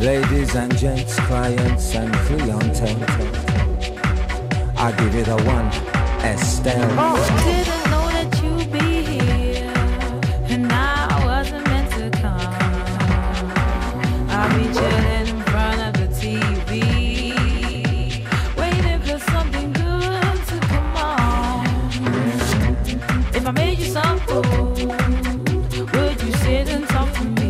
Ladies and gents, clients and clientele, I give it a one, Estelle. Didn't know that you'd be here, and I wasn't meant to come. I'll be chilling in front of the TV, waiting for something good to come on. If I made you some food, would you sit and talk to me?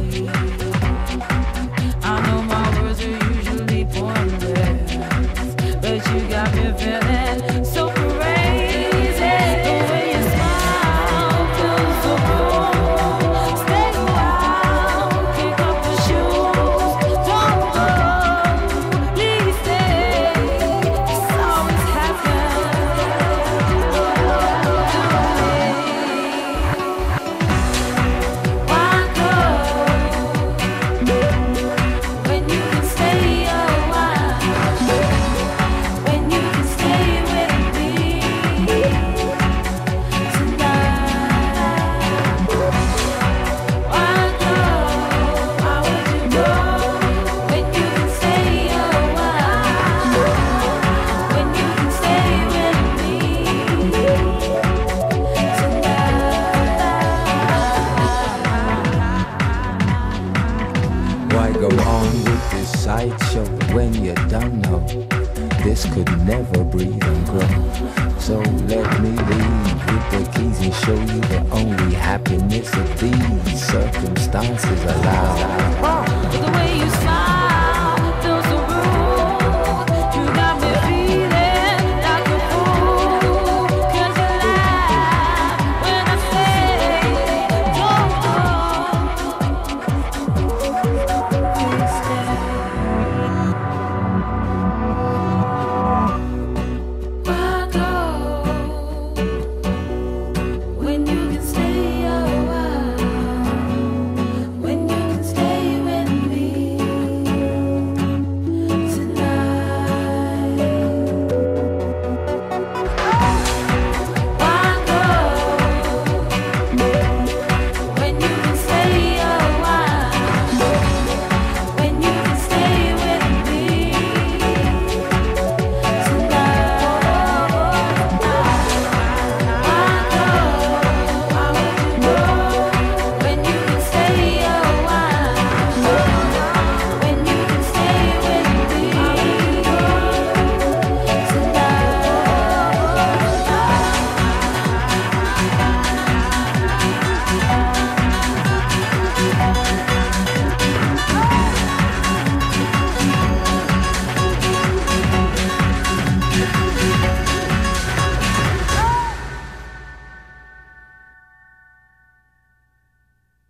I know my words are usually pointless, but you got me feeling so crazy. The way you smile feels so cool. Stay a while, kick off the shoes. Don't go, please stay. It's always Why go when you can stay a while? When you can stay with me tonight. Why go? Why would you go when you can stay a while? When you can stay with me tonight. Why go on with this sideshow when you don't know this could never breathe and grow? So let me leave with the keys and show you the only happiness of these circumstances allow. The way you smile.